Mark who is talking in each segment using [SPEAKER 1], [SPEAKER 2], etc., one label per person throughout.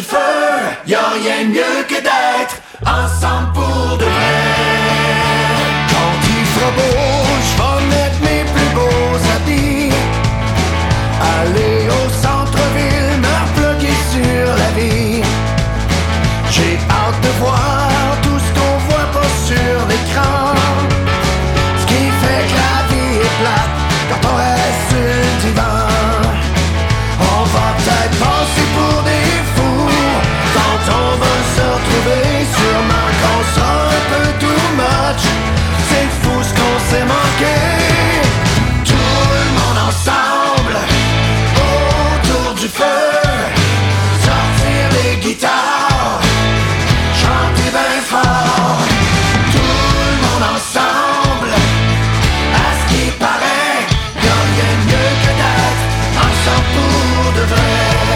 [SPEAKER 1] du feu, y'a rien de mieux que d'être ensemble pour de vrai. Quand il fera beau, j'vais mettre mes plus beaux habits, aller au centre-ville, me reploguer sur la vie. J'ai hâte de voir tout ce qu'on voit pas sur l'écran, ce qui fait que la vie est plate quand on reste sur le divan. On va peut-être passer pour des fous quand on va se retrouver, sûrement qu'on sera un peu too much. C'est fou ce qu'on s'est manqué. Tout le monde ensemble autour du feu, sortir les guitares, chanter bien fort. Tout le monde ensemble, à ce qui paraît, y'a rien de mieux que d'être ensemble pour de vrai.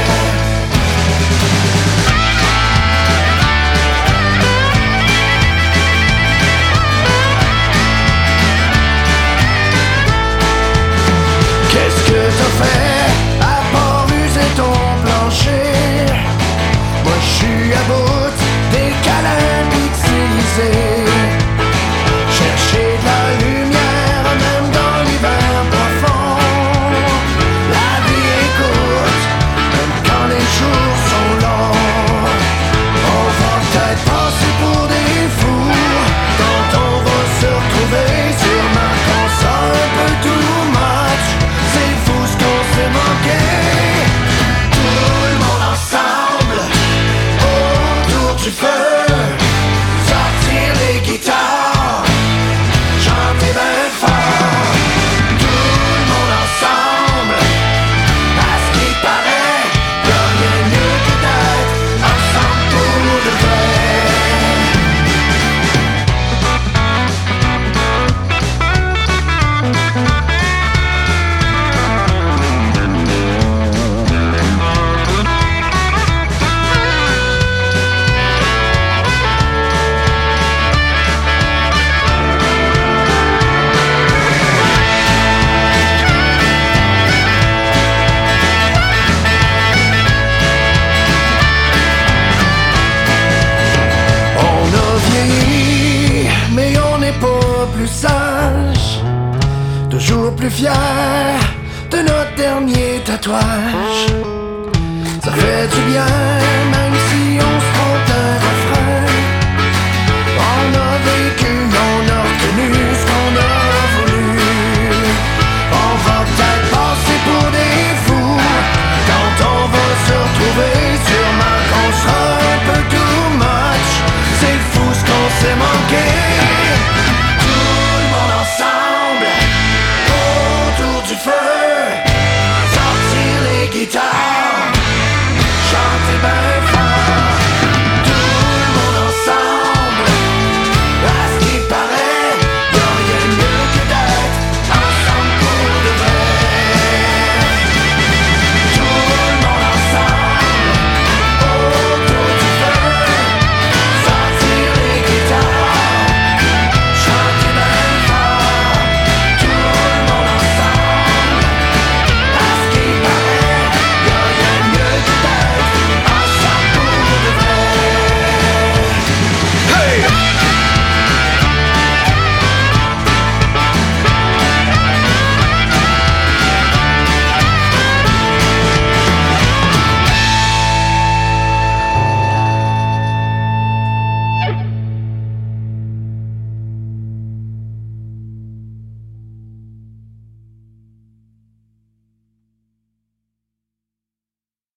[SPEAKER 1] Qu'est-ce que t'as fait à part user ton plancher? Moi j'suis à bout des câlins utilisés. Chercher de la lumière même dans l'hiver profond. La vie est courte, même quand les jours sont longs. On va peut-être passer pour des fous quand on va se retrouver, sûrement qu'on sera un peu too much. C'est fou ce qu'on s'est manqué. Tout le monde ensemble autour du feu, sortir les guitares, chanter bien fort. Tout le monde ensemble, à ce qui paraît, y'a rien de mieux que d'être ensemble pour de vrai. On a vieilli, mais on n'est pas plus sage, toujours plus fier de notre dernier tatouage. Ça fait du bien